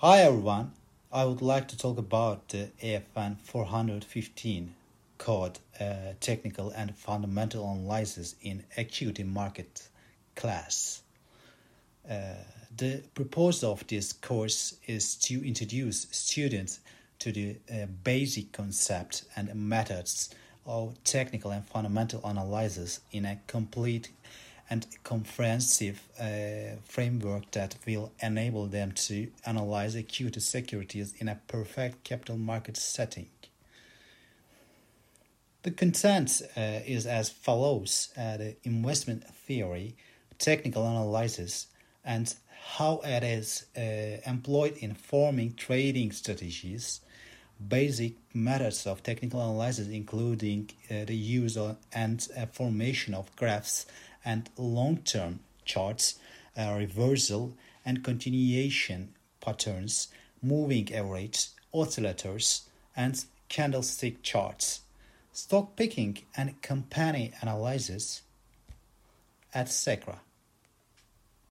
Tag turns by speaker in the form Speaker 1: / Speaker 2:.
Speaker 1: Hi everyone, I would like to talk about the AFN 415 called Technical and Fundamental Analysis in Equity Market class. The purpose of this course is to introduce students to the basic concepts and methods of technical and fundamental analysis in a complete and comprehensive framework that will enable them to analyze equity securities in a perfect capital market setting. The content is as follows: the investment theory, technical analysis, and how it is employed in forming trading strategies, basic methods of technical analysis including the use of and formation of graphs and long-term charts, reversal and continuation patterns, moving average, oscillators, and candlestick charts, stock picking and company analysis, etc.